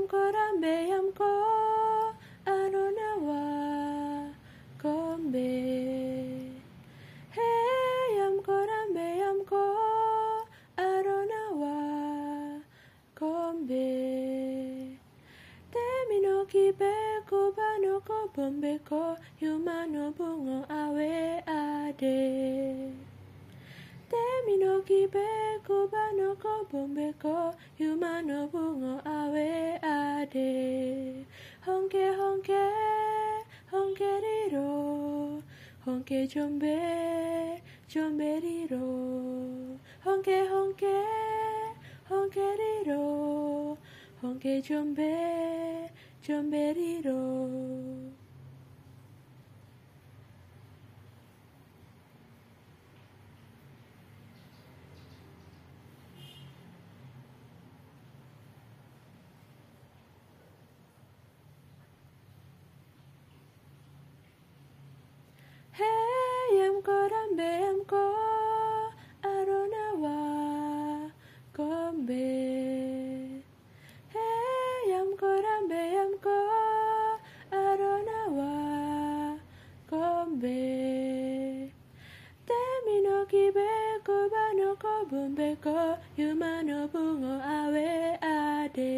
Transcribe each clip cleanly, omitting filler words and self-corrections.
korambe yamko anonawa kombe. Hey yam korambe yamko anonawa kombe. Temino kibe kubano ko bombe ko yumano bungo awe ade. Temino kibe kubano ko bombe ko yumano bungo awe ade. Honke honke honke riro honke jombe jombe riro. Honke honke honke riro honke jombe jombe riro. Hey yam korambe yamko aronawa kombe. Hey yam korambe yamko aronawa kombe. Temino kibe kubano ko bombe ko yumano bungo awe ade.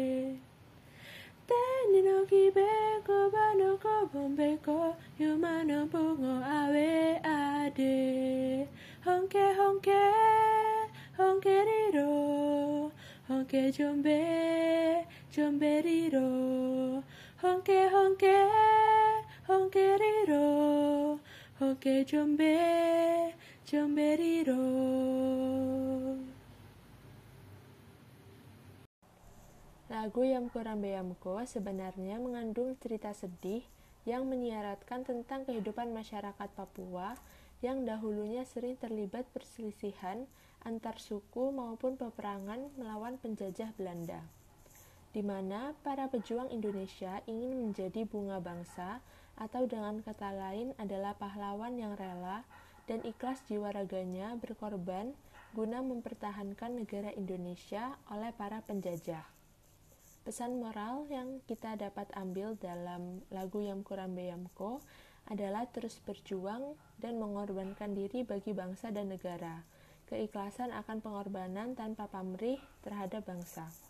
Tenino kibe kubano ko bombe ko yumano bungo awe ade. Honke honke honke riro honke jombe jombe riro. Honke honke honke riro honke jombe jombe riro. Lagu Yam Korambe Yamko sebenarnya mengandung cerita sedih yang menyiaratkan tentang kehidupan masyarakat Papua yang dahulunya sering terlibat perselisihan antar suku maupun peperangan melawan penjajah Belanda, di mana para pejuang Indonesia ingin menjadi bunga bangsa atau dengan kata lain adalah pahlawan yang rela dan ikhlas jiwa raganya berkorban guna mempertahankan negara Indonesia oleh para penjajah. Pesan moral yang kita dapat ambil dalam lagu Yam Korambe Yamko adalah terus berjuang dan mengorbankan diri bagi bangsa dan negara. Keikhlasan akan pengorbanan tanpa pamrih terhadap bangsa.